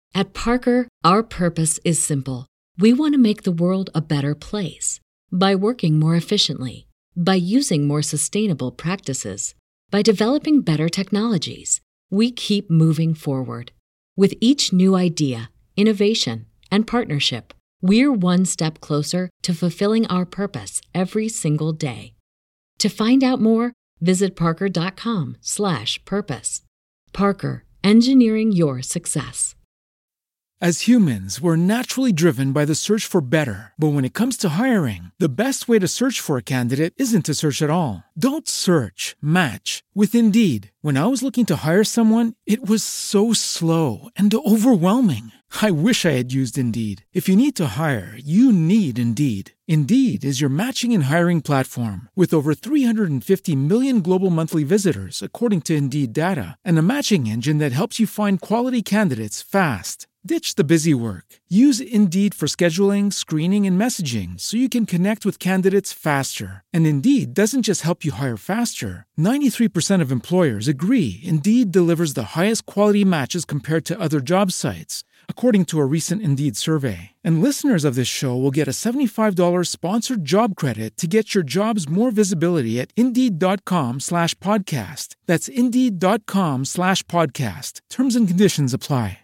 At Parker, our purpose is simple. We want to make the world a better place by working more efficiently, by using more sustainable practices, by developing better technologies. We keep moving forward. With each new idea, innovation, and partnership, we're one step closer to fulfilling our purpose every single day. To find out more, visit parker.com/purpose. Parker, engineering your success. As humans, we're naturally driven by the search for better. But when it comes to hiring, the best way to search for a candidate isn't to search at all. Don't search, match with Indeed. When I was looking to hire someone, it was so slow and overwhelming. I wish I had used Indeed. If you need to hire, you need Indeed. Indeed is your matching and hiring platform with over 350 million global monthly visitors, according to Indeed data, and a matching engine that helps you find quality candidates fast. Ditch the busy work. Use Indeed for scheduling, screening, and messaging so you can connect with candidates faster. And Indeed doesn't just help you hire faster. 93% of employers agree Indeed delivers the highest quality matches compared to other job sites, according to a recent Indeed survey. And listeners of this show will get a $75 sponsored job credit to get your jobs more visibility at Indeed.com/podcast. That's Indeed.com/podcast. Terms and conditions apply.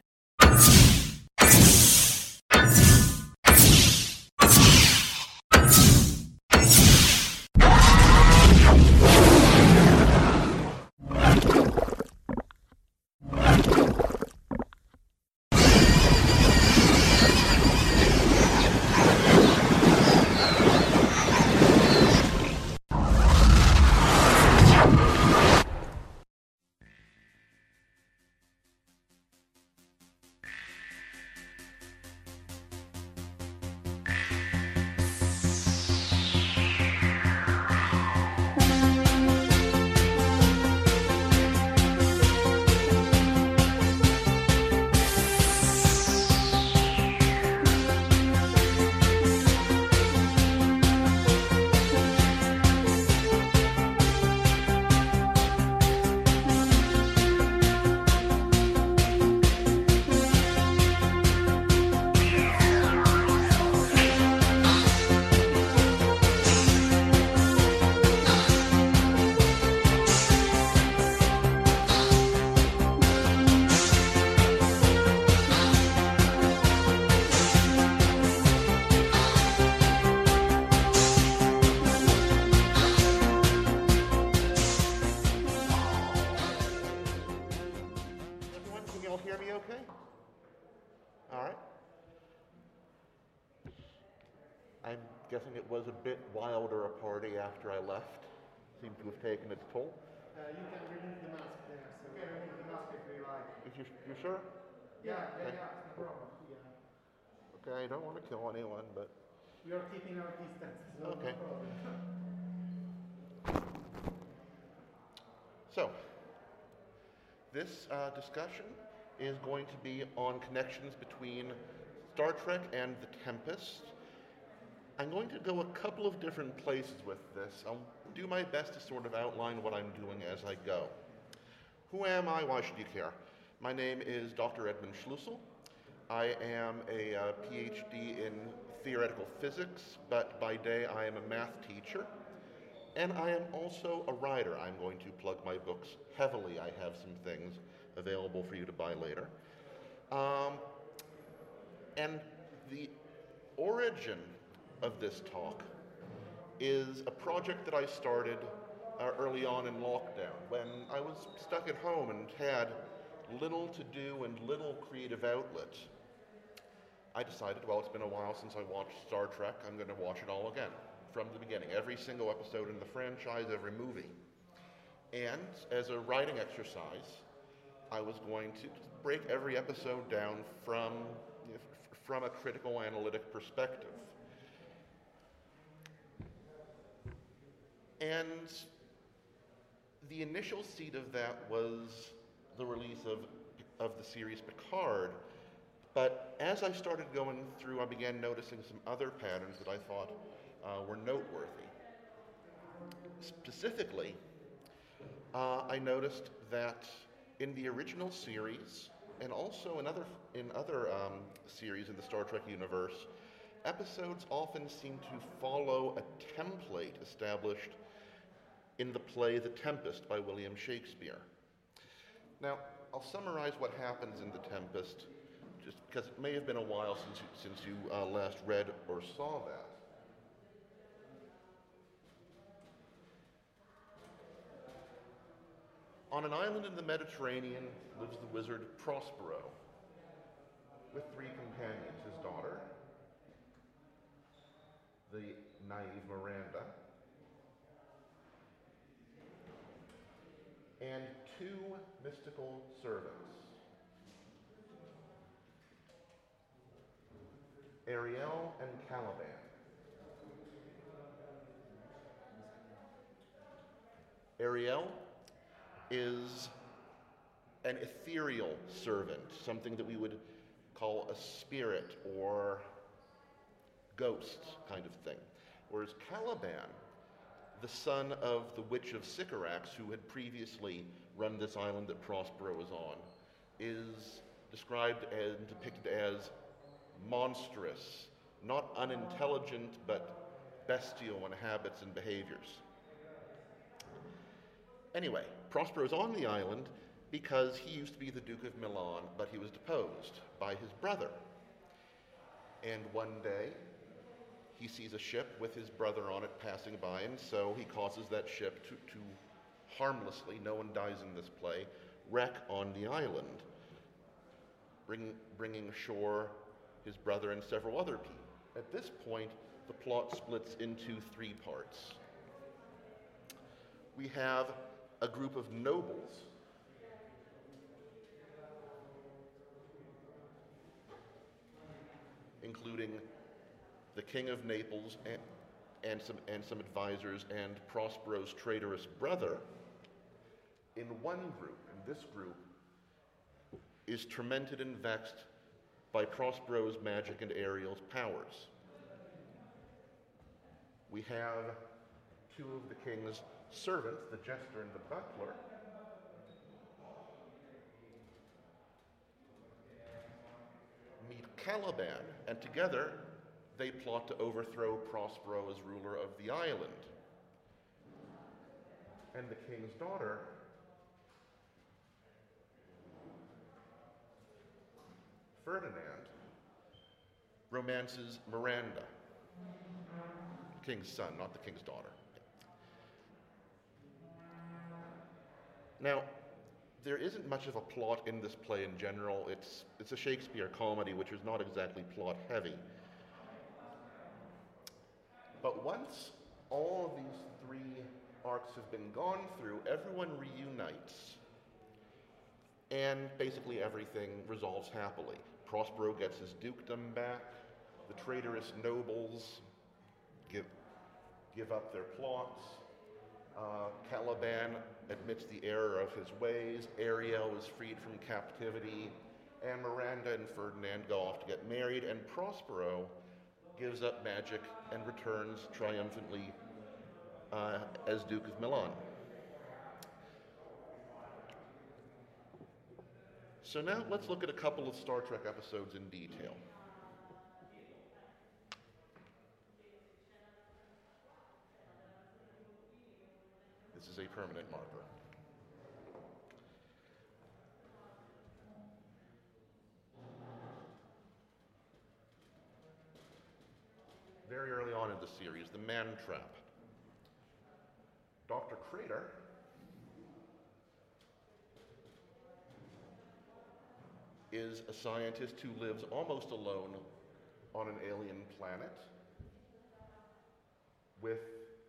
Guessing it was a bit wilder a party after I left. Seemed to have taken its toll. You can remove the mask there, so you can remove the mask if you like. You sure? Yeah, no problem. Yeah. Okay, I don't want to kill anyone, but... We are keeping our distance, so okay. No problem. So, this discussion is going to be on connections between Star Trek and The Tempest. I'm going to go a couple of different places with this. I'll do my best to sort of outline what I'm doing as I go. Who am I? Why should you care? My name is Dr. Edmund Schlussel. I am a PhD in theoretical physics, but by day I am a math teacher. And I am also a writer. I'm going to plug my books heavily. I have some things available for you to buy later. And the origin of this talk is a project that I started early on in lockdown when I was stuck at home and had little to do and little creative outlet. I decided, well, it's been a while since I watched Star Trek. I'm going to watch it all again from the beginning, every single episode in the franchise, every movie. And as a writing exercise, I was going to break every episode down from a critical analytic perspective. And the initial seed of that was the release of the series Picard. But as I started going through, I began noticing some other patterns that I thought were noteworthy. Specifically, I noticed that in the original series, And also in other series in the Star Trek universe, episodes often seem to follow a template established in the play The Tempest by William Shakespeare. Now, I'll summarize what happens in The Tempest, just because it may have been a while since you last read or saw that. On an island in the Mediterranean lives the wizard Prospero with three companions, his daughter, the naive Miranda, and two mystical servants, Ariel and Caliban. Ariel is an ethereal servant, something that we would call a spirit or ghost kind of thing. Whereas Caliban, the son of the Witch of Sycorax, who had previously run this island that Prospero was on, is described and depicted as monstrous, not unintelligent, but bestial in habits and behaviors. Anyway, Prospero's on the island because he used to be the Duke of Milan, but he was deposed by his brother. And one day, he sees a ship with his brother on it passing by, and so he causes that ship to harmlessly, no one dies in this play, wreck on the island, bringing ashore his brother and several other people. At this point, the plot splits into three parts. We have a group of nobles including the King of Naples and some advisors and Prospero's traitorous brother in one group. And this group is tormented and vexed by Prospero's magic and Ariel's powers. We have two of the king's servants, the jester and the butler, meet Caliban, and together they plot to overthrow Prospero as ruler of the island. And the king's daughter, Ferdinand, romances Miranda, the king's son, not the king's daughter. Now, there isn't much of a plot in this play in general. It's a Shakespeare comedy, which is not exactly plot heavy. But once all of these three arcs have been gone through, everyone reunites, and basically everything resolves happily. Prospero gets his dukedom back, the traitorous nobles give up their plots, Caliban admits the error of his ways, Ariel is freed from captivity, and Miranda and Ferdinand go off to get married, and Prospero gives up magic and returns triumphantly as Duke of Milan. So now let's look at a couple of Star Trek episodes in detail. This is a permanent marker. Very early on in the series, the Man Trap. Dr. Crater is a scientist who lives almost alone on an alien planet with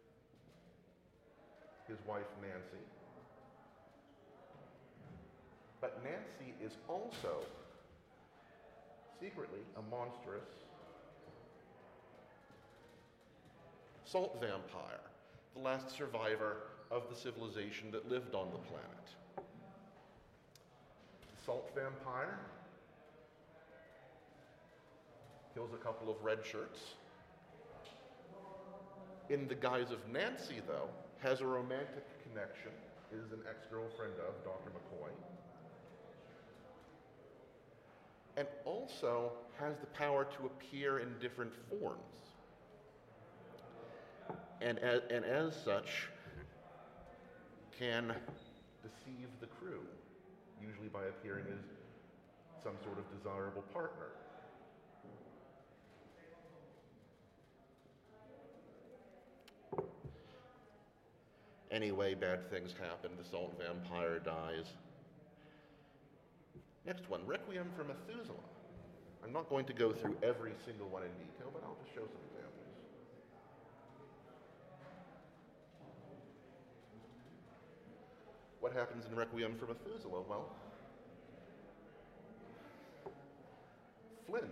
his wife Nancy. But Nancy is also secretly a monstrous salt vampire, the last survivor of the civilization that lived on the planet. The salt vampire kills a couple of red shirts. In the guise of Nancy, though, has a romantic connection, is an ex-girlfriend of Dr. McCoy. and also has the power to appear in different forms. And as such, can deceive the crew, usually by appearing as some sort of desirable partner. Anyway, bad things happen. The salt vampire dies. Next one, Requiem for Methuselah. I'm not going to go through every single one in detail, but I'll just show some examples. What happens in Requiem for Methuselah? Well, Flint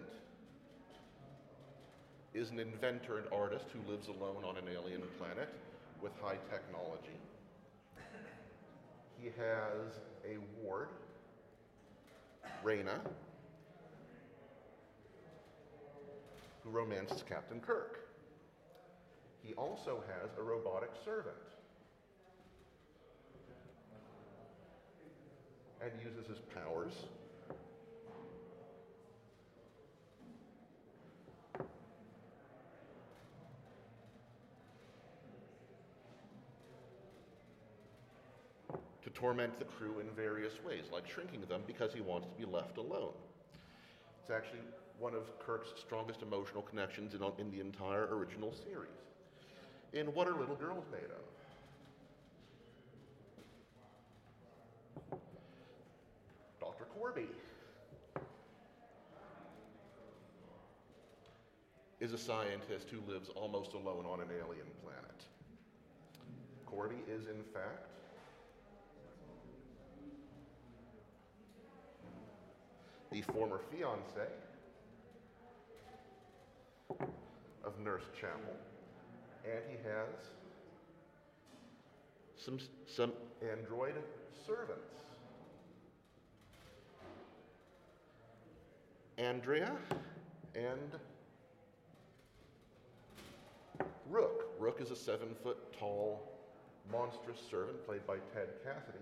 is an inventor and artist who lives alone on an alien planet with high technology. He has a ward, Reyna, who romances Captain Kirk. He also has a robotic servant and uses his powers to torment the crew in various ways, like shrinking them because he wants to be left alone. It's actually one of Kirk's strongest emotional connections in the entire original series. In What Are Little Girls Made Of? Dr. Corby is a scientist who lives almost alone on an alien planet. Corby is, in fact, the former fiancé of Nurse Chapel, and he has some android servants. Andrea and Rook. Rook is a 7-foot-tall, monstrous servant played by Ted Cassidy,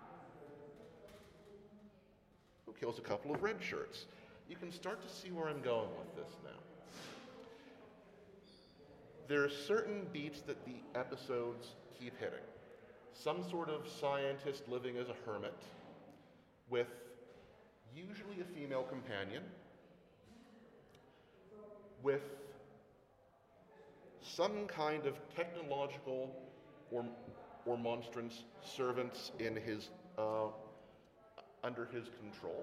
who kills a couple of red shirts. You can start to see where I'm going with this now. There are certain beats that the episodes keep hitting. Some sort of scientist living as a hermit with usually a female companion, with some kind of technological or monstrous servants in his under his control.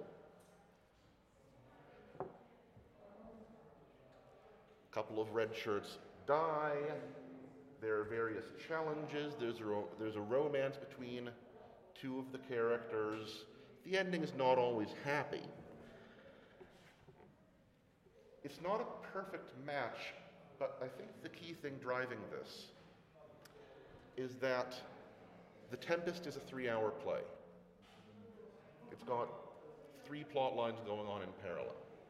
A couple of red shirts die. There are various challenges. There's a romance between two of the characters. The ending is not always happy. It's not a perfect match, but I think the key thing driving this is that The Tempest is a 3-hour play. It's got 3 plot lines going on in parallel.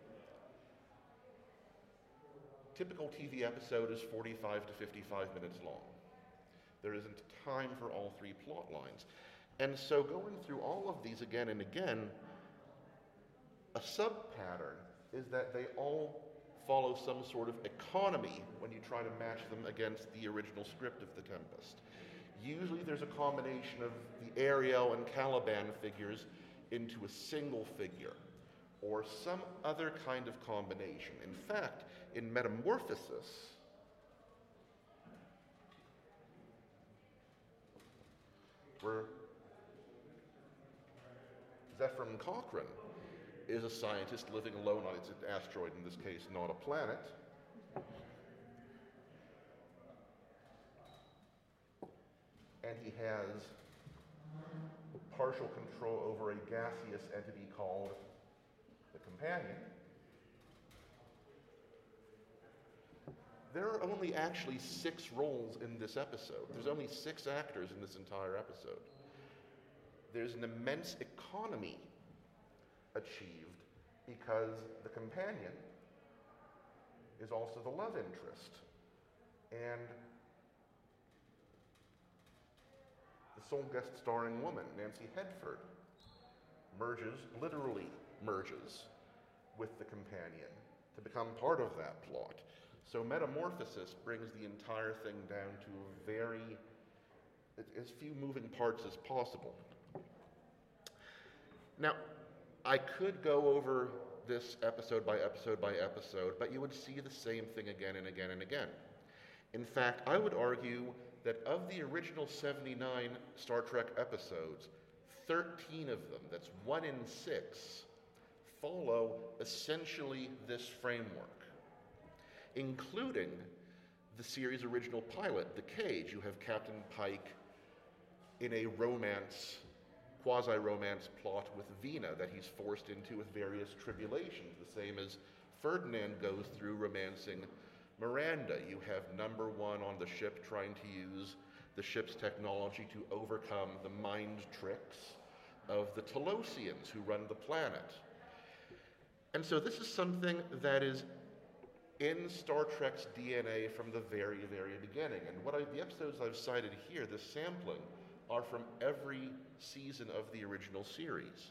Typical TV episode is 45 to 55 minutes long. There isn't time for all 3 plot lines. And so going through all of these again and again, a sub-pattern is that they all follow some sort of economy when you try to match them against the original script of The Tempest. Usually there's a combination of the Ariel and Caliban figures into a single figure, or some other kind of combination. In fact, in Metamorphosis, where Zephram Cochrane is a scientist living alone on its asteroid, in this case, not a planet, and he has partial control over a gaseous entity called the Companion. There are only actually 6 roles in this episode. There's only 6 actors in this entire episode. There's an immense economy achieved because the Companion is also the love interest. And the sole guest starring woman, Nancy Hedford, literally merges with the companion to become part of that plot. So metamorphosis brings the entire thing down to as few moving parts as possible. Now, I could go over this episode by episode by episode, but you would see the same thing again and again and again. In fact, I would argue that of the original 79 Star Trek episodes, 13 of them, that's 1 in 6, follow essentially this framework, including the series' original pilot, The Cage. You have Captain Pike in a quasi-romance plot with Vina that he's forced into with various tribulations, the same as Ferdinand goes through romancing Miranda. You have number one on the ship trying to use the ship's technology to overcome the mind tricks of the Talosians who run the planet. And so this is something that is in Star Trek's DNA from the very, very beginning. And the episodes I've cited here, this sampling, are from every season of the original series.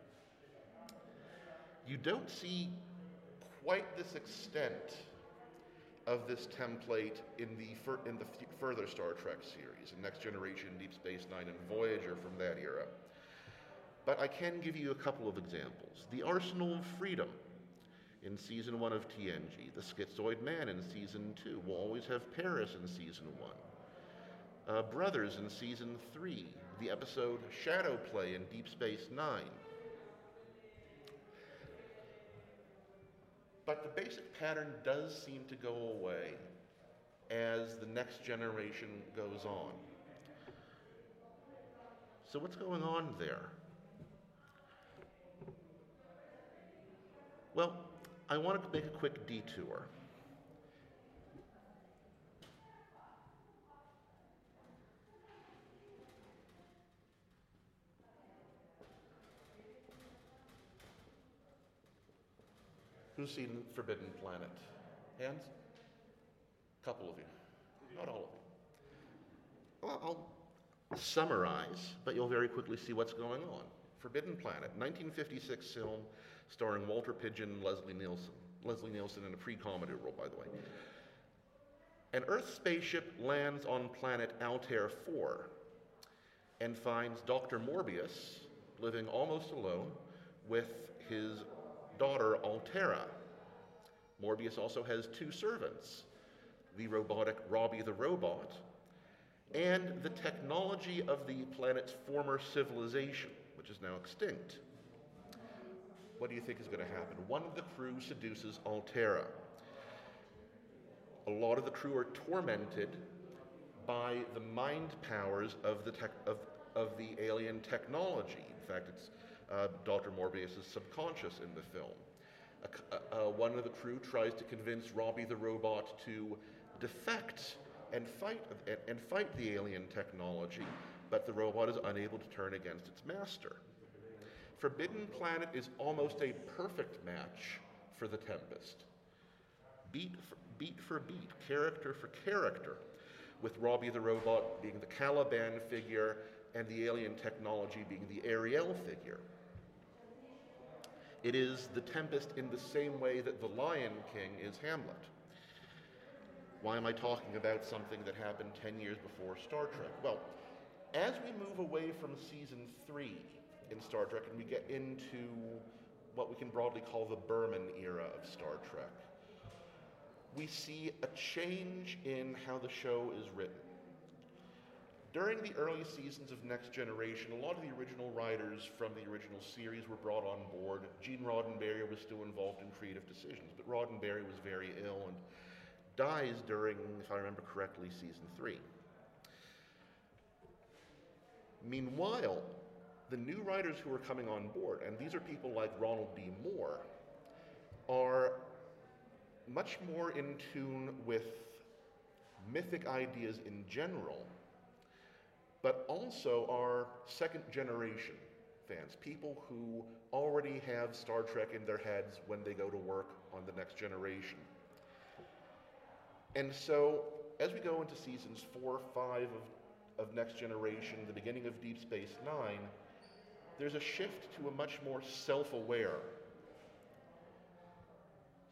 You don't see quite this extent of this template in the further Star Trek series, in Next Generation, Deep Space Nine, and Voyager from that era. But I can give you a couple of examples. The Arsenal of Freedom in Season 1 of TNG, the Schizoid Man in Season 2, we'll always have Paris in Season 1. Brothers in Season 3, the episode Shadow Play in Deep Space Nine. But the basic pattern does seem to go away as the Next Generation goes on. So what's going on there? Well, I wanted to make a quick detour. Who's seen Forbidden Planet? Hands? A couple of you. Not all of you. Well, I'll summarize, but you'll very quickly see what's going on. Forbidden Planet, 1956 film starring Walter Pidgeon and Leslie Nielsen. Leslie Nielsen in a pre-comedy role, by the way. An Earth spaceship lands on planet Altair 4 and finds Dr. Morbius living almost alone with his daughter Altera. Morbius also has 2 servants, the robotic Robbie the Robot, and the technology of the planet's former civilization, which is now extinct. What do you think is going to happen? One of the crew seduces Altera. A lot of the crew are tormented by the mind powers of the alien technology. In fact, it's Dr. Morbius' subconscious in the film. One of the crew tries to convince Robbie the Robot to defect and fight the alien technology, but the robot is unable to turn against its master. Forbidden Planet is almost a perfect match for The Tempest. Beat for beat, character for character, with Robbie the Robot being the Caliban figure and the alien technology being the Ariel figure. It is The Tempest in the same way that The Lion King is Hamlet. Why am I talking about something that happened 10 years before Star Trek? Well, as we move away from Season 3 in Star Trek and we get into what we can broadly call the Berman era of Star Trek, we see a change in how the show is written. During the early seasons of Next Generation, a lot of the original writers from the original series were brought on board. Gene Roddenberry was still involved in creative decisions, but Roddenberry was very ill and dies during, if I remember correctly, Season 3. Meanwhile, the new writers who are coming on board, and these are people like Ronald D. Moore, are much more in tune with mythic ideas in general, but also are second generation fans, people who already have Star Trek in their heads when they go to work on the Next Generation. And so, as we go into seasons 4, 5 of Next Generation, the beginning of Deep Space Nine, there's a shift to a much more self-aware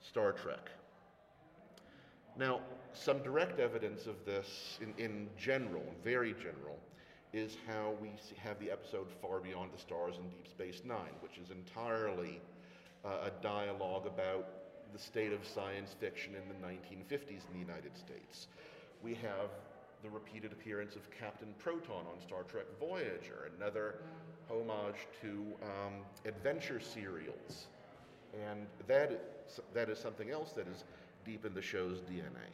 Star Trek. Now, some direct evidence of this in general, very general, is how we have the episode Far Beyond the Stars in Deep Space Nine, which is entirely a dialogue about the state of science fiction in the 1950s in the United States. We have the repeated appearance of Captain Proton on Star Trek Voyager, another homage to adventure serials. And that is something else that is deep in the show's DNA.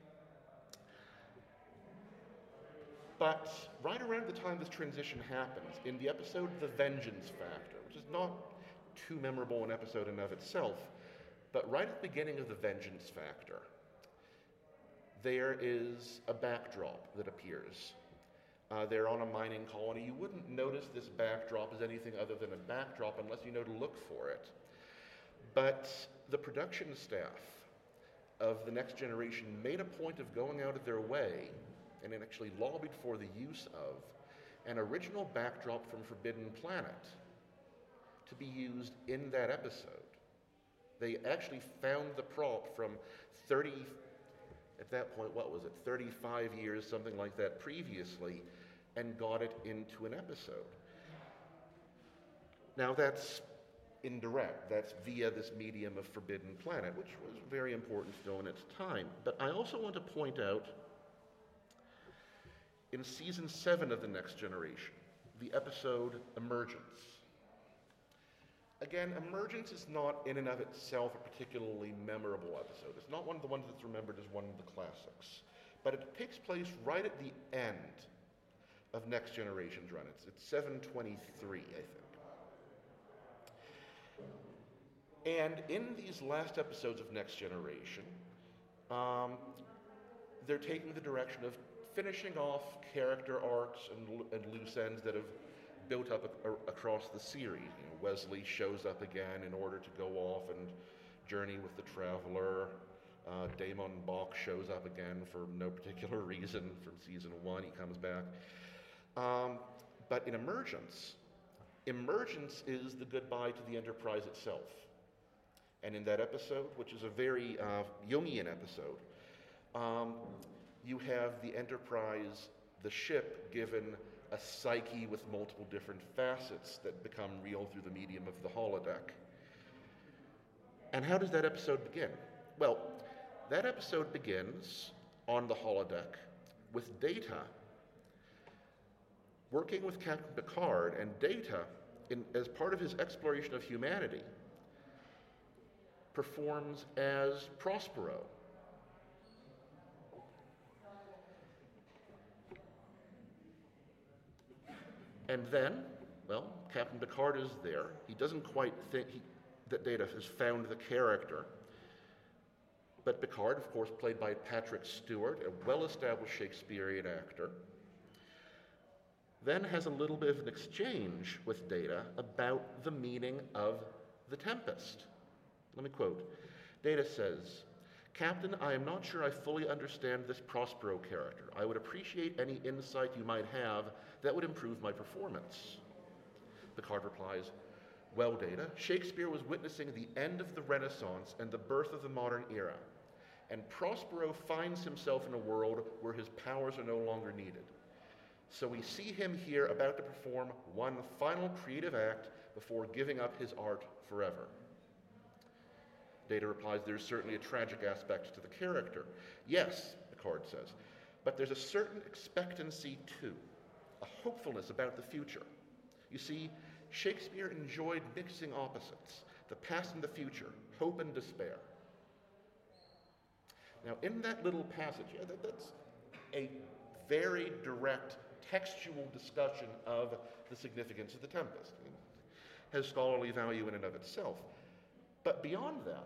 But right around the time this transition happens, in the episode The Vengeance Factor, which is not too memorable an episode in of itself, but right at the beginning of The Vengeance Factor, there is a backdrop that appears. They're on a mining colony. You wouldn't notice this backdrop as anything other than a backdrop unless you know to look for it. But the production staff of The Next Generation made a point of going out of their way and it actually lobbied for the use of an original backdrop from Forbidden Planet to be used in that episode. They actually found the prop from 30, at that point, what was it, 35 years, something like that previously, and got it into an episode. Now that's indirect. That's via this medium of Forbidden Planet, which was very important still in its time. But I also want to point out, in Season 7 of The Next Generation, the episode Emergence. Again, Emergence is not in and of itself a particularly memorable episode. It's not one of the ones that's remembered as one of the classics. But it takes place right at the end of Next Generation's run. It's 723, I think. And in these last episodes of Next Generation, they're taking the direction of finishing off character arcs and loose ends that have built up across the series. You know, Wesley shows up again in order to go off and journey with the Traveler. Damon Bach shows up again for no particular reason from season 1. He comes back. But in Emergence is the goodbye to the Enterprise itself. And in that episode, which is a very Jungian episode, you have the Enterprise, the ship, given a psyche with multiple different facets that become real through the medium of the holodeck. And how does that episode begin? Well, that episode begins on the holodeck with Data working with Captain Picard, and Data, as part of his exploration of humanity, performs as Prospero. And then, well, Captain Picard is there. He doesn't quite think that Data has found the character. But Picard, of course, played by Patrick Stewart, a well-established Shakespearean actor, then has a little bit of an exchange with Data about the meaning of the Tempest. Let me quote. Data says, "Captain, I am not sure I fully understand this Prospero character. I would appreciate any insight you might have that would improve my performance." Picard replies, "Well, Data, Shakespeare was witnessing the end of the Renaissance and the birth of the modern era, and Prospero finds himself in a world where his powers are no longer needed. So we see him here about to perform one final creative act before giving up his art forever." Data replies, "There's certainly a tragic aspect to the character." "Yes," Picard says, "but there's a certain expectancy too, a hopefulness about the future. You see, Shakespeare enjoyed mixing opposites, the past and the future, hope and despair." Now, in that little passage, that's a very direct textual discussion of the significance of the Tempest. It has scholarly value in and of itself. But beyond that,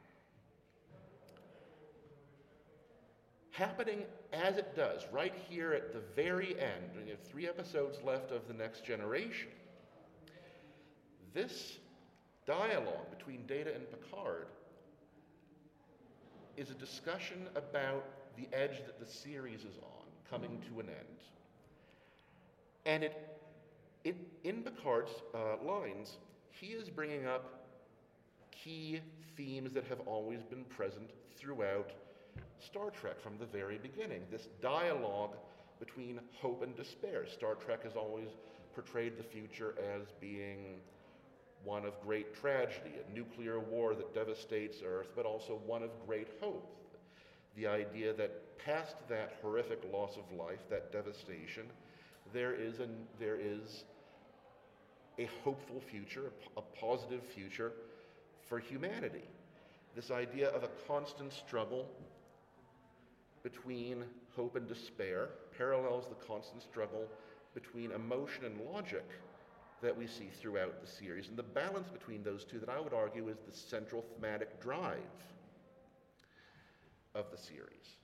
happening as it does right here at the very end, we have 3 episodes left of The Next Generation, this dialogue between Data and Picard is a discussion about the edge that the series is on, coming to an end. And in Picard's lines, he is bringing up key themes that have always been present throughout Star Trek from the very beginning. This dialogue between hope and despair. Star Trek has always portrayed the future as being one of great tragedy, a nuclear war that devastates Earth, but also one of great hope. The idea that past that horrific loss of life, that devastation, there is a hopeful future, a positive future for humanity. This idea of a constant struggle between hope and despair parallels the constant struggle between emotion and logic that we see throughout the series. And the balance between those two that I would argue is the central thematic drive of the series.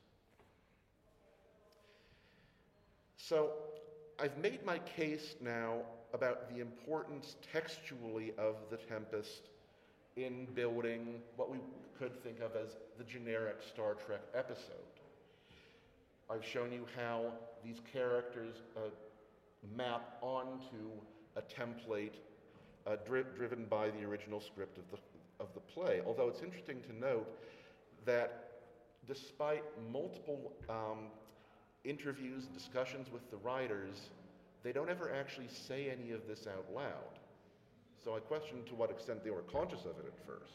So I've made my case now about the importance textually of The Tempest in building what we could think of as the generic Star Trek episode. I've shown you how these characters map onto a template driven by the original script of the play. Although it's interesting to note that despite multiple interviews and discussions with the writers, they don't ever actually say any of this out loud. So I question to what extent they were conscious of it at first.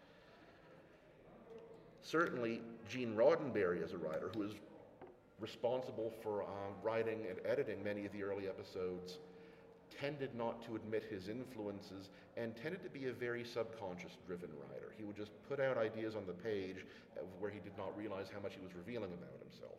Certainly, Gene Roddenberry as a writer, who is responsible for writing and editing many of the early episodes, tended not to admit his influences and tended to be a very subconscious-driven writer. He would just put out ideas on the page where he did not realize how much he was revealing about himself.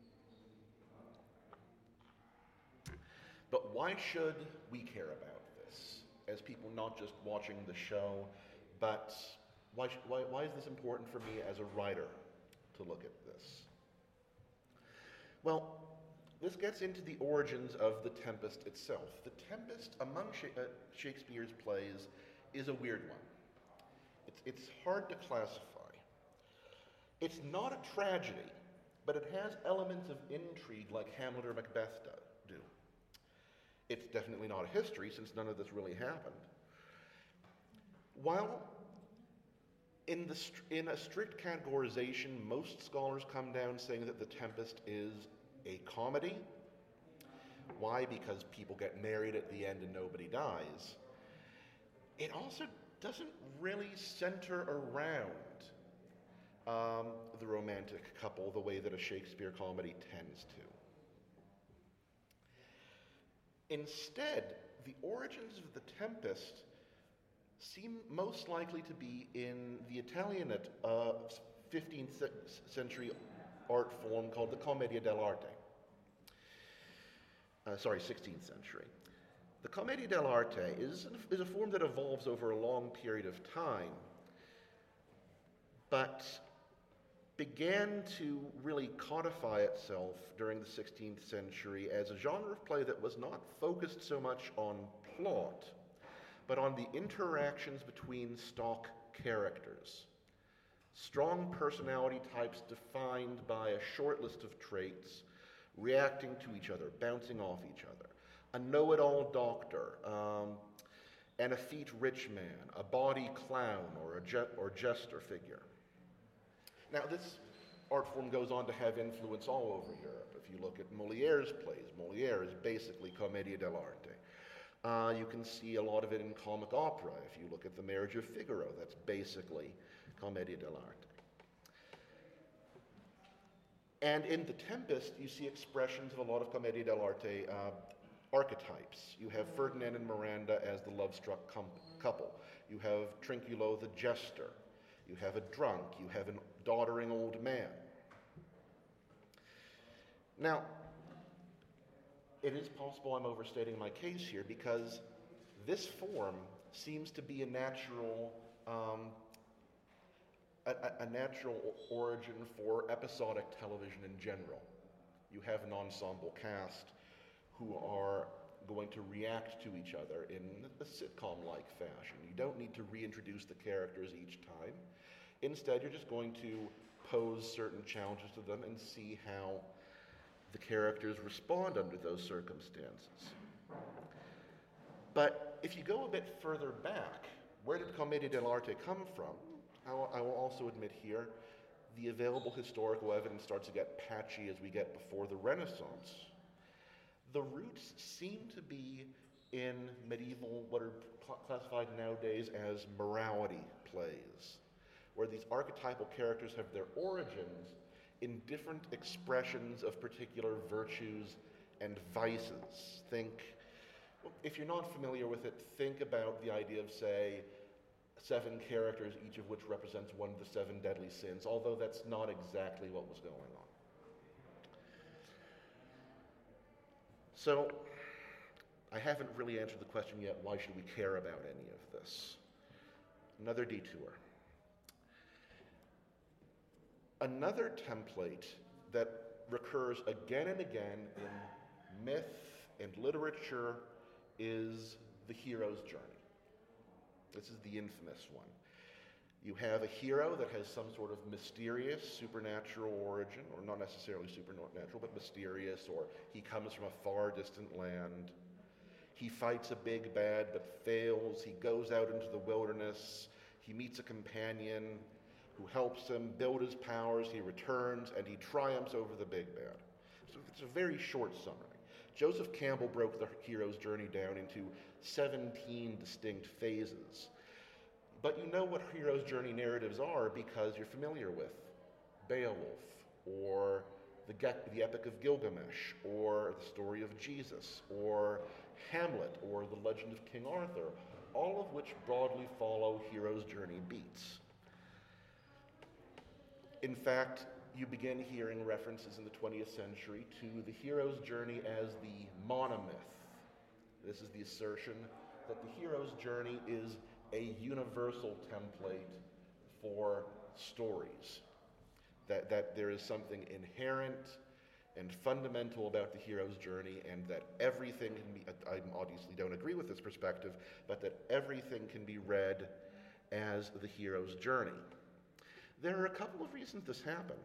But why should we care about this as people not just watching the show, but why is this important for me as a writer to look at this? Well, this gets into the origins of The Tempest itself. The Tempest, among Shakespeare's plays, is a weird one. It's hard to classify. It's not a tragedy, but it has elements of intrigue like Hamlet or Macbeth do. It's definitely not a history, since none of this really happened. While in a strict categorization, most scholars come down saying that The Tempest is a comedy. Why? Because people get married at the end and nobody dies. It also doesn't really center around the romantic couple the way that a Shakespeare comedy tends to. Instead, the origins of The Tempest seem most likely to be in the Italianate 15th century art form called the Commedia dell'arte. 16th century. The Commedia dell'arte is a form that evolves over a long period of time, but began to really codify itself during the 16th century as a genre of play that was not focused so much on plot, but on the interactions between stock characters. Strong personality types defined by a short list of traits, reacting to each other, bouncing off each other. A know-it-all doctor, an effete rich man, a bawdy clown, or jester figure. Now, this art form goes on to have influence all over Europe. If you look at Molière's plays, Molière is basically Commedia dell'arte. You can see a lot of it in comic opera. If you look at The Marriage of Figaro, that's basically Commedia dell'arte. And in The Tempest, you see expressions of a lot of Commedia dell'arte archetypes. You have Ferdinand and Miranda as the love-struck couple. You have Trinculo the jester. You have a drunk. You have a doddering old man. Now, it is possible I'm overstating my case here because this form seems to be a natural origin for episodic television in general. You have an ensemble cast who are going to react to each other in a sitcom-like fashion. You don't need to reintroduce the characters each time. Instead, you're just going to pose certain challenges to them and see how the characters respond under those circumstances. But if you go a bit further back, Where did Commedia dell'arte come from? I will also admit here, the available historical evidence starts to get patchy as we get before the Renaissance. The roots seem to be in medieval, what are classified nowadays as morality plays, where these archetypal characters have their origins in different expressions of particular virtues and vices. If you're not familiar with it, think about the idea of, say, 7 characters, each of which represents one of the 7 deadly sins, although that's not exactly what was going on. So, I haven't really answered the question yet, why should we care about any of this? Another detour. Another template that recurs again and again in myth and literature is the hero's journey. This is the infamous one. You have a hero that has some sort of mysterious supernatural origin, or not necessarily supernatural, but mysterious, or he comes from a far distant land. He fights a big bad but fails. He goes out into the wilderness. He meets a companion who helps him build his powers. He returns and he triumphs over the big bad. So it's a very short summary. Joseph Campbell broke the hero's journey down into 17 distinct phases. But you know what hero's journey narratives are because you're familiar with Beowulf, or the Epic of Gilgamesh, or the story of Jesus, or Hamlet, or the Legend of King Arthur, all of which broadly follow hero's journey beats. In fact, you begin hearing references in the 20th century to the hero's journey as the monomyth. This is the assertion that the hero's journey is a universal template for stories, that there is something inherent and fundamental about the hero's journey, and that everything can be, I obviously don't agree with this perspective, but that everything can be read as the hero's journey. There are a couple of reasons this happened.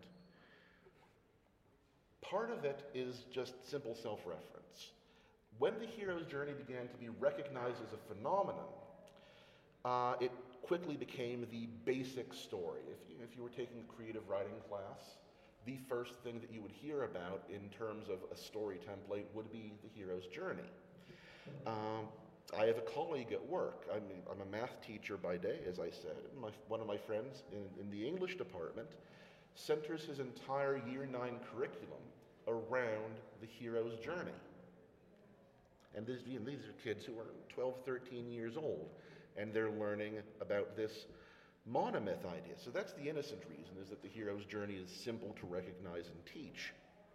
Part of it is just simple self-reference. When the hero's journey began to be recognized as a phenomenon, it quickly became the basic story. If you were taking a creative writing class, the first thing that you would hear about in terms of a story template would be the hero's journey. I have a colleague at work. I'm a math teacher by day, as I said. One of my friends in the English department centers his entire Year 9 curriculum around the hero's journey. And these are kids who are 12, 13 years old, and they're learning about this monomyth idea. So that's the innocent reason, is that the hero's journey is simple to recognize and teach.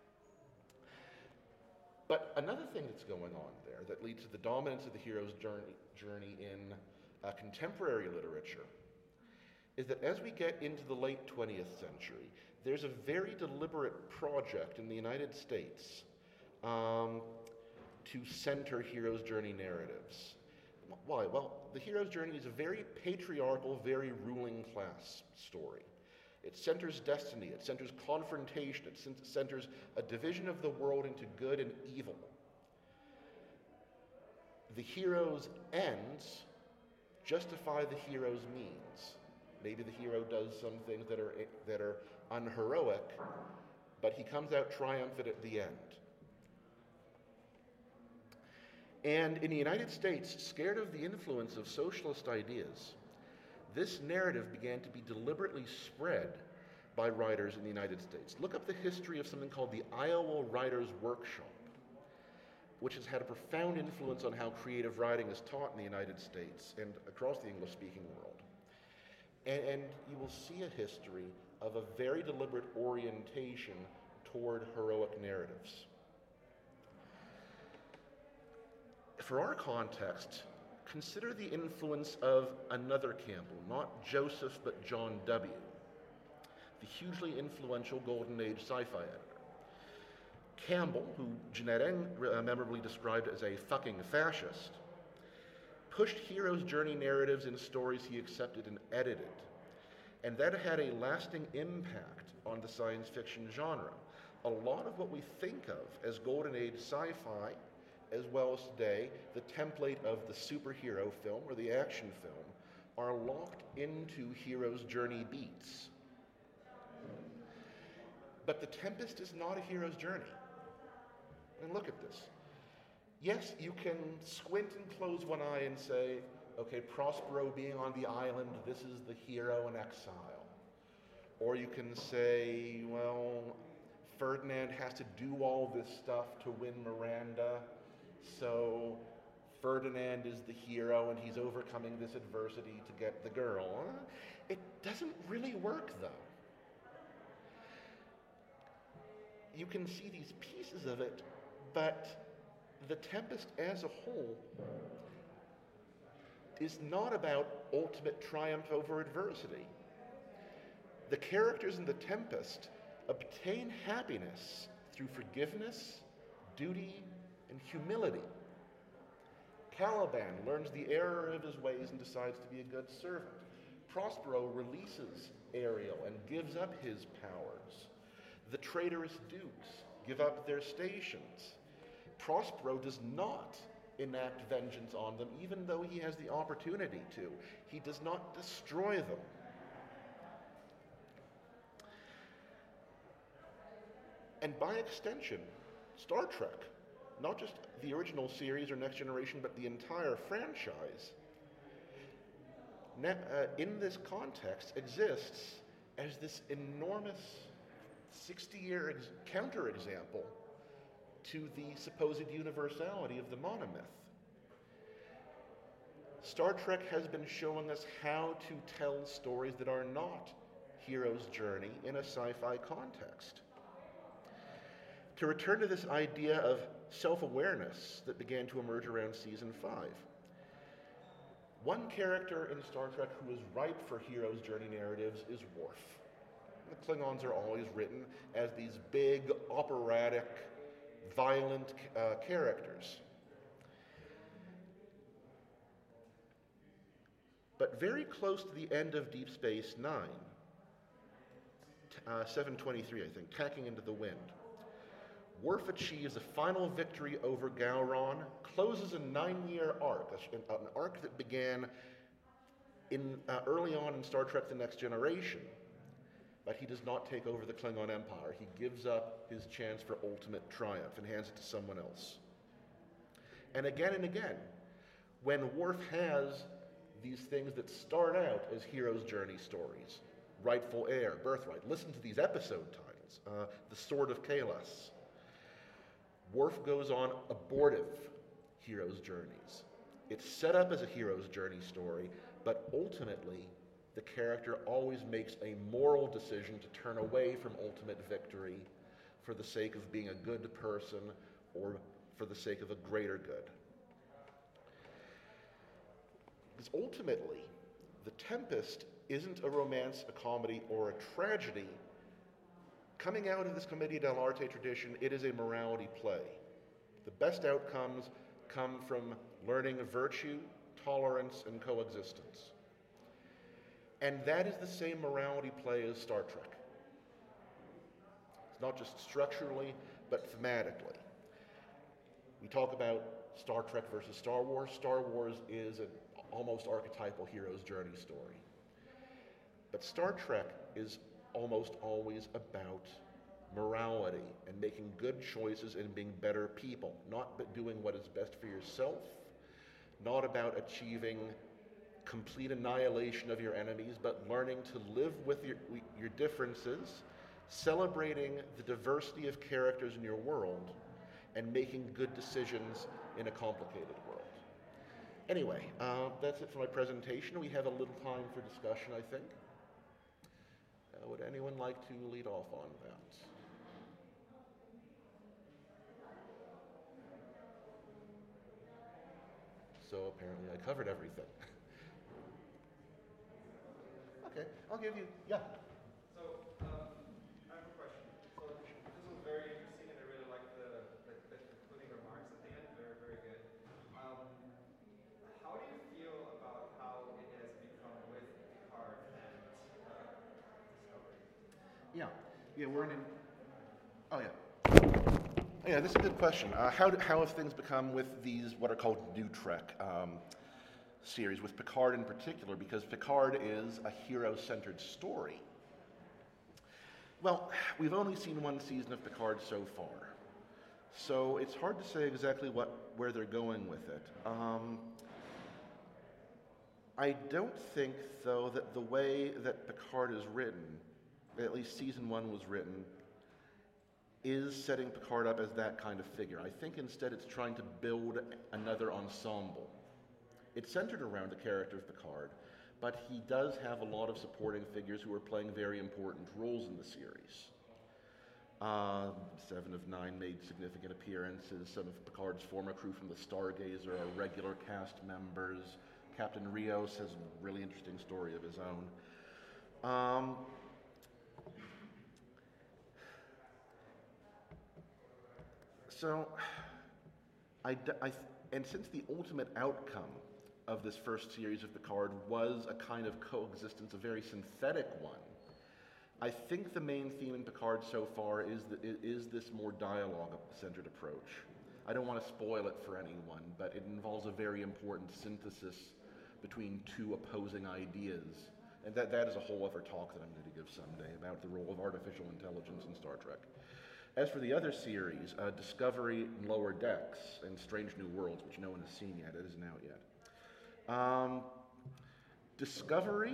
But another thing that's going on there that leads to the dominance of the hero's journey in contemporary literature is that as we get into the late 20th century, there's a very deliberate project in the United States to center hero's journey narratives. Why? Well, the hero's journey is a very patriarchal, very ruling class story. It centers destiny, it centers confrontation, it centers a division of the world into good and evil. The hero's ends justify the hero's means. Maybe the hero does some things that are unheroic, but he comes out triumphant at the end. And in the United States, scared of the influence of socialist ideas, this narrative began to be deliberately spread by writers in the United States. Look up the history of something called the Iowa Writers' Workshop, which has had a profound influence on how creative writing is taught in the United States and across the English-speaking world. And you will see a history of a very deliberate orientation toward heroic narratives. For our context, consider the influence of another Campbell, not Joseph, but John W., the hugely influential Golden Age sci-fi editor. Campbell, who Jeanette Eng memorably described as a fucking fascist, pushed hero's journey narratives in stories he accepted and edited, and that had a lasting impact on the science fiction genre. A lot of what we think of as Golden Age sci-fi, as well as today, the template of the superhero film or the action film, are locked into hero's journey beats. But The Tempest is not a hero's journey. And look at this. Yes, you can squint and close one eye and say, okay, Prospero being on the island, this is the hero in exile. Or you can say, well, Ferdinand has to do all this stuff to win Miranda, so Ferdinand is the hero and he's overcoming this adversity to get the girl. It doesn't really work, though. You can see these pieces of it, but The Tempest as a whole is not about ultimate triumph over adversity. The characters in The Tempest obtain happiness through forgiveness, duty, and humility. Caliban learns the error of his ways and decides to be a good servant. Prospero releases Ariel and gives up his powers. The traitorous dukes give up their stations. Prospero does not enact vengeance on them, even though he has the opportunity to. He does not destroy them. And by extension, Star Trek, not just the original series or Next Generation, but the entire franchise, in this context exists as this enormous 60-year counterexample to the supposed universality of the monomyth. Star Trek has been showing us how to tell stories that are not hero's journey in a sci-fi context. To return to this idea of self-awareness that began to emerge around season 5. One character in Star Trek who is ripe for hero's journey narratives is Worf. The Klingons are always written as these big, operatic, violent characters. But very close to the end of Deep Space Nine, 723, I think, Tacking into the Wind, Worf achieves a final victory over Gowron, closes a 9-year arc, an arc that began early on in Star Trek The Next Generation, but he does not take over the Klingon Empire. He gives up his chance for ultimate triumph and hands it to someone else. And again, when Worf has these things that start out as hero's journey stories, Rightful Heir, Birthright, listen to these episode titles, The Sword of Kahless. Worf goes on abortive hero's journeys. It's set up as a hero's journey story, but ultimately, the character always makes a moral decision to turn away from ultimate victory for the sake of being a good person or for the sake of a greater good. Because ultimately, The Tempest isn't a romance, a comedy, or a tragedy. Coming out of this Commedia dell'arte tradition, it is a morality play. The best outcomes come from learning virtue, tolerance, and coexistence. And that is the same morality play as Star Trek. It's not just structurally, but thematically. We talk about Star Trek versus Star Wars. Star Wars is an almost archetypal hero's journey story. But Star Trek is almost always about morality and making good choices and being better people, not doing what is best for yourself, not about achieving complete annihilation of your enemies, but learning to live with your differences, celebrating the diversity of characters in your world, and making good decisions in a complicated world. Anyway, that's it for my presentation. We have a little time for discussion, I think. Would anyone like to lead off on that? So apparently I covered everything. Okay, I'll give you, yeah. So, I have a question. So, this was very interesting, and I really liked the concluding remarks at the end. Very, very good. How do you feel about how it has become with Picard and Discovery? Yeah, we're in. Oh yeah. Yeah, this is a good question. How have things become with these what are called new Trek? series, with Picard in particular, because Picard is a hero-centered story. Well, we've only seen one season of Picard so far, so it's hard to say exactly where they're going with it. I don't think, though, that the way that Picard is written, at least season 1 was written, is setting Picard up as that kind of figure. I think instead it's trying to build another ensemble. It's centered around the character of Picard, but he does have a lot of supporting figures who are playing very important roles in the series. 7 of 9 made significant appearances. Some of Picard's former crew from the Stargazer are regular cast members. Captain Rios has a really interesting story of his own. And since the ultimate outcome of this first series of Picard was a kind of coexistence, a very synthetic one, I think the main theme in Picard so far is this more dialogue-centered approach. I don't want to spoil it for anyone, but it involves a very important synthesis between two opposing ideas. And that is a whole other talk that I'm going to give someday about the role of artificial intelligence in Star Trek. As for the other series, Discovery, Lower Decks, and Strange New Worlds, which no one has seen yet, it isn't out yet. Discovery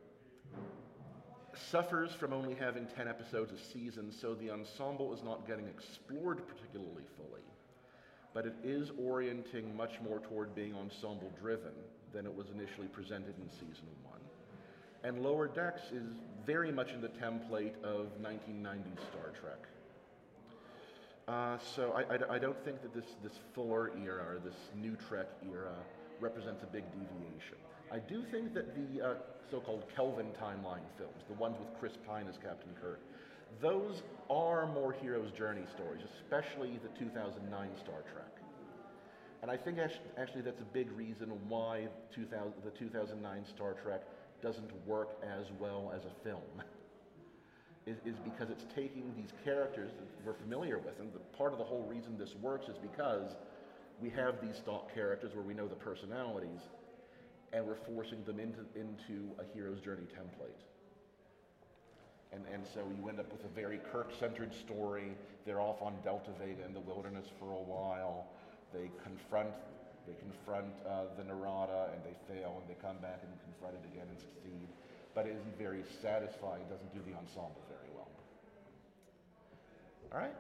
suffers from only having 10 episodes a season, so the ensemble is not getting explored particularly fully. But it is orienting much more toward being ensemble-driven than it was initially presented in season 1. And Lower Decks is very much in the template of 1990s Star Trek. So I don't think that this Fuller era or this New Trek era represents a big deviation. I do think that the so-called Kelvin timeline films, the ones with Chris Pine as Captain Kirk, those are more hero's journey stories, especially the 2009 Star Trek. And I think actually that's a big reason why the 2009 Star Trek doesn't work as well as a film. Is because it's taking these characters that we're familiar with, and part of the whole reason this works is because we have these stock characters where we know the personalities, and we're forcing them into a hero's journey template. And so you end up with a very Kirk-centered story. They're off on Delta Vega in the wilderness for a while. They confront the Narada, and they fail, and they come back and confront it again and succeed. But it isn't very satisfying. It doesn't do the ensemble very well. All right?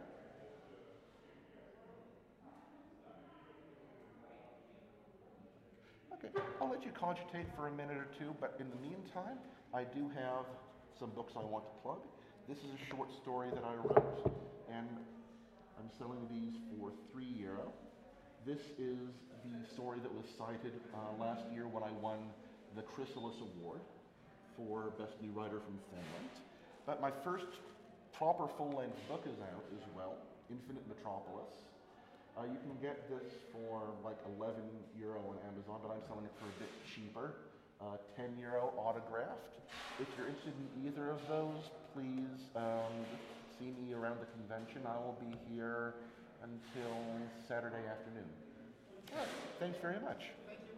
Okay, I'll let you cogitate for a minute or two, but in the meantime, I do have some books I want to plug. This is a short story that I wrote, and I'm selling these for €3. This is the story that was cited last year when I won the Chrysalis Award for Best New Writer from Finland. But my first proper full-length book is out as well, Infinite Metropolis. You can get this for like €11 on Amazon, but I'm selling it for a bit cheaper, €10 autographed. If you're interested in either of those, please see me around the convention. I will be here until Saturday afternoon. All right, thanks very much.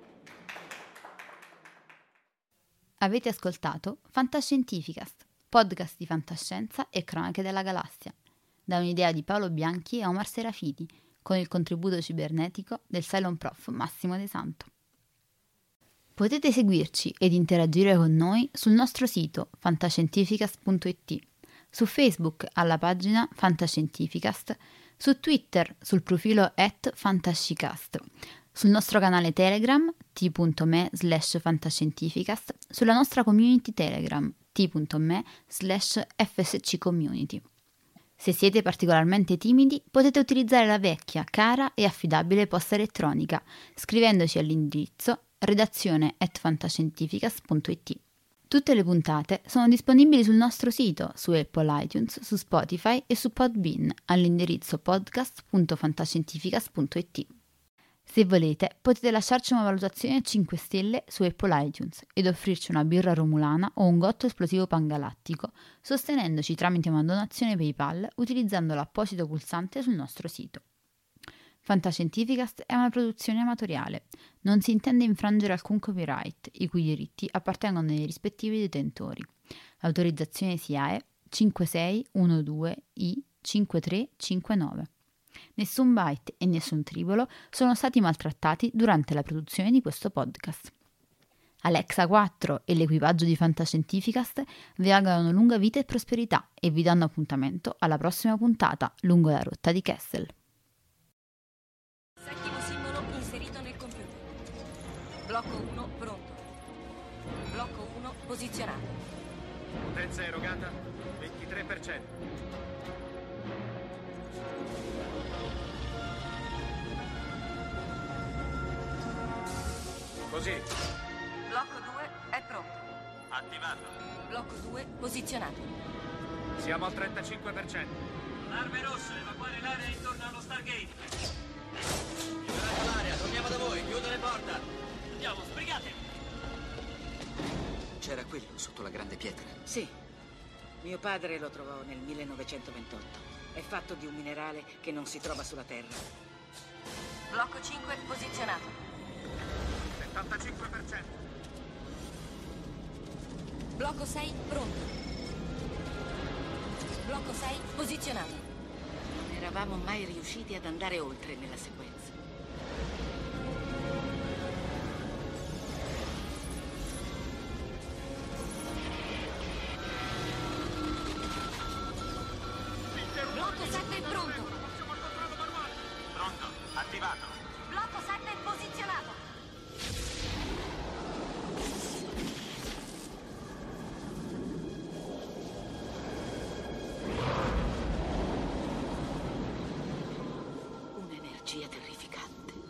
Avete ascoltato Fantascientificast, podcast di fantascienza e cronache della galassia, da un'idea di Paolo Bianchi e Omar Serafiti, con il contributo cibernetico del Cylon Prof Massimo De Santo. Potete seguirci ed interagire con noi sul nostro sito fantascientificast.it, su Facebook alla pagina Fantascientificast, su Twitter sul profilo @fantascicast, sul nostro canale Telegram t.me/fantascientificast, sulla nostra community Telegram t.me/fsccommunity. Se siete particolarmente timidi, potete utilizzare la vecchia, cara e affidabile posta elettronica, scrivendoci all'indirizzo redazione@fantascientificast.it. Tutte le puntate sono disponibili sul nostro sito, su Apple iTunes, su Spotify e su Podbean, all'indirizzo podcast.fantascientificast.it. Se volete, potete lasciarci una valutazione a 5 stelle su Apple iTunes ed offrirci una birra romulana o un gotto esplosivo pangalattico, sostenendoci tramite una donazione PayPal utilizzando l'apposito pulsante sul nostro sito. Fantascientificast è una produzione amatoriale. Non si intende infrangere alcun copyright, i cui diritti appartengono ai rispettivi detentori. Autorizzazione SIAE 5612I5359. Nessun byte e nessun tribolo sono stati maltrattati durante la produzione di questo podcast. Alexa 4 e l'equipaggio di Fantascientificast vi augurano lunga vita e prosperità e vi danno appuntamento alla prossima puntata lungo la rotta di Kessel. Settimo simbolo inserito nel computer. Blocco 1 pronto. Blocco 1 posizionato. Potenza erogata 23%. Così. Blocco 2 è pronto. Attivato. Blocco 2 posizionato. Siamo al 35%. Arme rosse, evacuare l'area intorno allo Stargate. Liberate l'area, torniamo da voi, chiudo le porte. Andiamo, sbrigate. C'era quello sotto la grande pietra. Sì. Mio padre lo trovò nel 1928. È fatto di un minerale che non si trova sulla Terra. Blocco 5 posizionato. 75%. Blocco 6 pronto. Blocco 6 posizionato. Non eravamo mai riusciti ad andare oltre nella sequenza. Blocco 7 pronto. Pronto, attivato. Blocco 7 posizionato. Un'energia terrificante.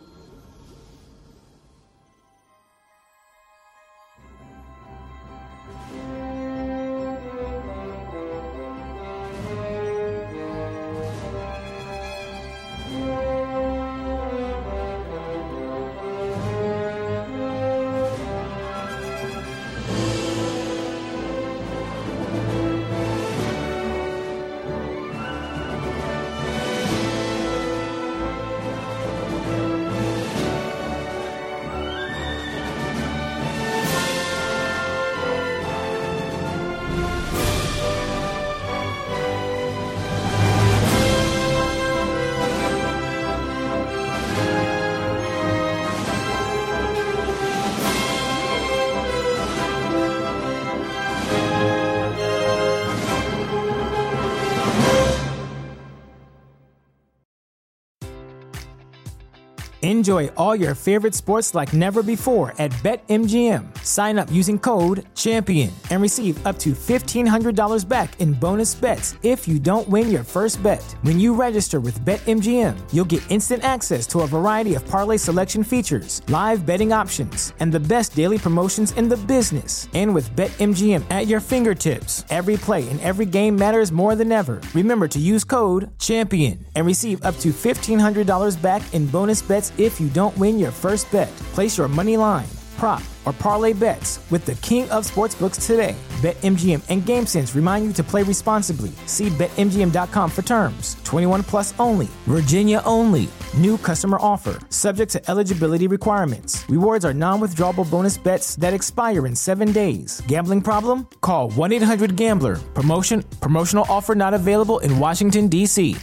Enjoy all your favorite sports like never before at BetMGM. Sign up using code CHAMPION and receive up to $1,500 back in bonus bets if you don't win your first bet. When you register with BetMGM, you'll get instant access to a variety of parlay selection features, live betting options, and the best daily promotions in the business. And with BetMGM at your fingertips, every play and every game matters more than ever. Remember to use code CHAMPION and receive up to $1,500 back in bonus bets if you don't win your first bet. Place your money line, prop, or parlay bets with the king of sportsbooks today. BetMGM and GameSense remind you to play responsibly. See BetMGM.com for terms. 21 plus only. Virginia only. New customer offer. Subject to eligibility requirements. Rewards are non-withdrawable bonus bets that expire in 7 days. Gambling problem? Call 1-800-GAMBLER. Promotional offer not available in Washington, D.C.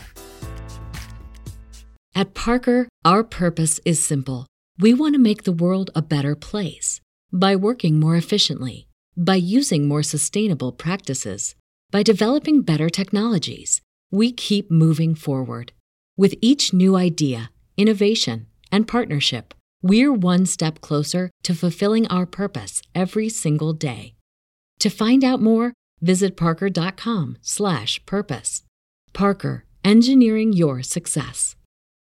At Parker, our purpose is simple. We want to make the world a better place by working more efficiently, by using more sustainable practices, by developing better technologies. We keep moving forward. With each new idea, innovation, and partnership, we're one step closer to fulfilling our purpose every single day. To find out more, visit parker.com/purpose. Parker, engineering your success.